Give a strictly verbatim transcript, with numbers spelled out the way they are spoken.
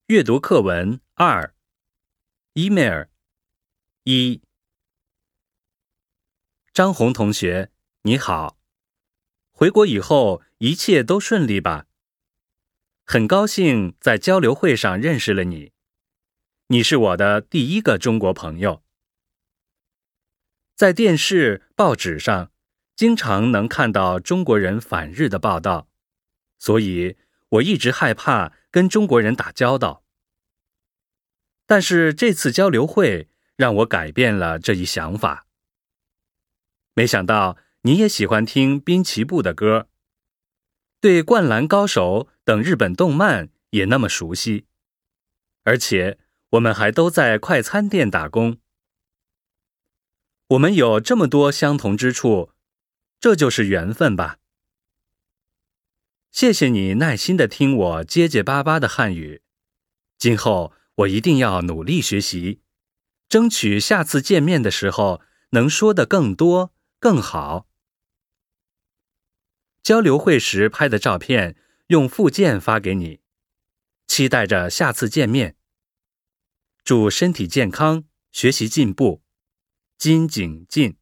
阅读课文二 email 一张红同学，你好，回国以后一切都顺利吧？很高兴在交流会上认识了你，你是我的第一个中国朋友。在电视、报纸上，经常能看到中国人反日的报道，所以我一直害怕跟中国人打交道。但是这次交流会让我改变了这一想法。没想到你也喜欢听滨崎步的歌，对灌篮高手等日本动漫也那么熟悉，而且我们还都在快餐店打工。我们有这么多相同之处，这就是缘分吧。谢谢你耐心地听我结结巴巴的汉语，今后我一定要努力学习，争取下次见面的时候能说得更多更好。交流会时拍的照片用附件发给你，期待着下次见面。祝身体健康，学习进步，金景进。